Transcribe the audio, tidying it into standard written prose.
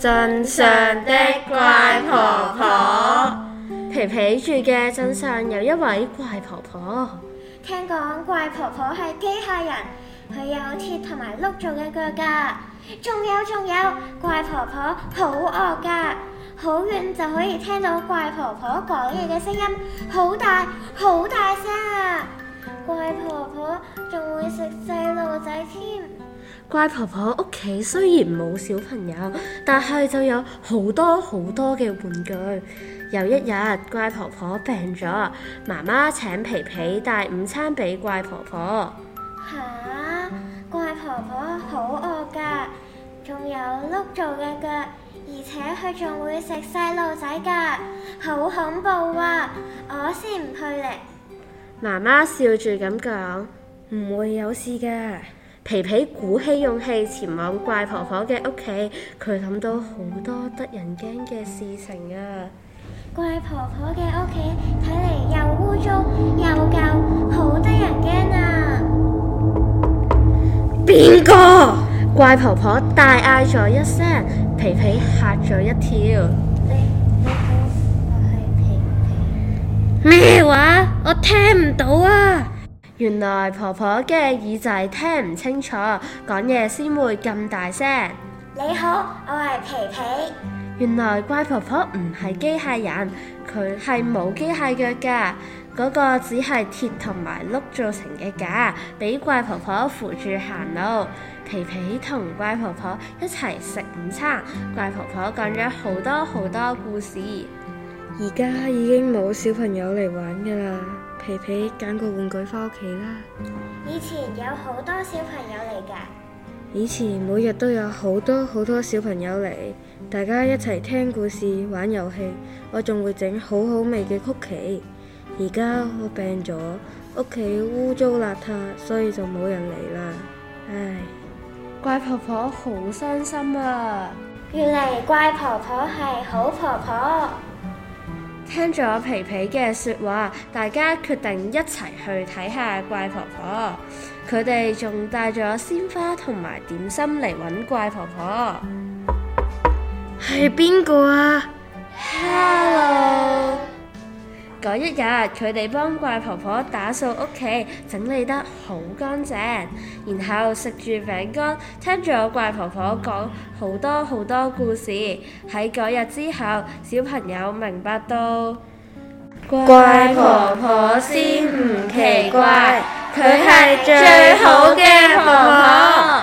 鎮上的怪婆婆。皮皮住嘅鎮上有一位怪婆婆。 聽講怪婆婆係機械人，佢有鐵同埋碌做嘅腳㗎。仲有，怪婆婆好惡㗎，好遠就可以聽到怪婆婆講嘢嘅聲音，好大聲啊！怪婆婆仲會食細路仔添。 怪婆婆屋企雖然冇小朋友，但係就有好多嘅玩具。有一日，怪婆婆病咗，媽媽請皮皮帶午餐俾怪婆婆。 吓，怪婆婆好惡㗎，仲有碌做嘅腳，而且佢仲會食細路仔㗎，好恐怖啊！我先唔去咧。 媽媽笑住咁講：唔會有事㗎。皮皮鼓起勇氣前往怪婆婆嘅屋企，佢諗到好多得人驚嘅事情啊！ 怪婆婆嘅屋企睇嚟又污糟又舊，好得人驚啊！ 邊個？怪婆婆大嗌咗一聲，皮皮嚇咗一跳。 你好，我係皮皮。 咩話？我聽唔到啊！原來婆婆嘅耳仔聽唔清楚，講嘢先會咁大聲。 你好，我係皮皮。 原來怪婆婆唔係機械人，佢係冇機械腳㗎，嗰個只係鐵同埋碌做成嘅架，俾怪婆婆扶住行路。皮皮同怪婆婆一齊食午餐，怪婆婆講咗好多故事。 而家已經冇小朋友嚟玩㗎啦，皮皮揀個玩具返屋企啦。 以前有好多小朋友嚟㗎。 以前每日都有好多小朋友嚟，大家一齊聽故事玩遊戲，我仲會整好味嘅曲奇。而家我病咗，屋企污糟邋遢，所以就冇人嚟啦。唉， 怪婆婆好傷心啊！ 原嚟怪婆婆係好婆婆。 聽咗皮皮嘅說話，大家決定一齊去睇下怪婆婆。佢哋仲帶咗鮮花同埋點心嚟搵怪婆婆。 係邊個啊？ Hello！ 嗰一日，佢哋幫怪婆婆打掃屋企，整理得好乾淨，然後食住餅乾，聽咗怪婆婆講好多故事。喺嗰日之後，小朋友明白到怪婆婆先唔奇怪，佢係最好嘅婆婆。